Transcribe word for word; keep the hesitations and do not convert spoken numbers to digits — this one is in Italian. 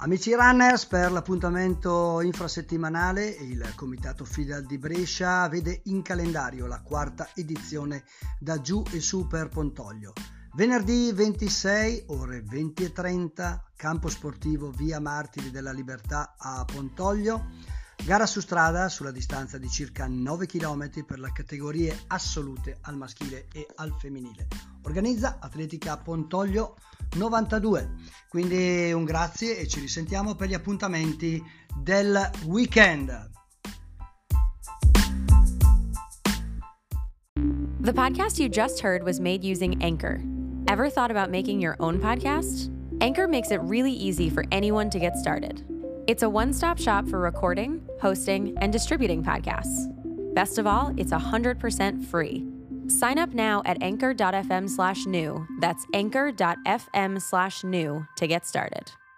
Amici runners, per l'appuntamento infrasettimanale il Comitato Fidal di Brescia vede in calendario la quarta edizione da giù e su per Pontoglio. Venerdì ventisei, ore venti e trenta, campo sportivo via Martiri della Libertà a Pontoglio. Gara su strada sulla distanza di circa nove chilometri per le categorie assolute al maschile e al femminile. Organizza Atletica Pontoglio novantadue. Quindi un grazie e ci risentiamo per gli appuntamenti del weekend. The podcast you just heard was made using Anchor. Ever thought about making your own podcast? Anchor makes it really easy for anyone to get started. It's a one-stop shop for recording, hosting, and distributing podcasts. Best of all, it's one hundred percent free. Sign up now at anchor.fm slash new. That's anchor.fm slash new to get started.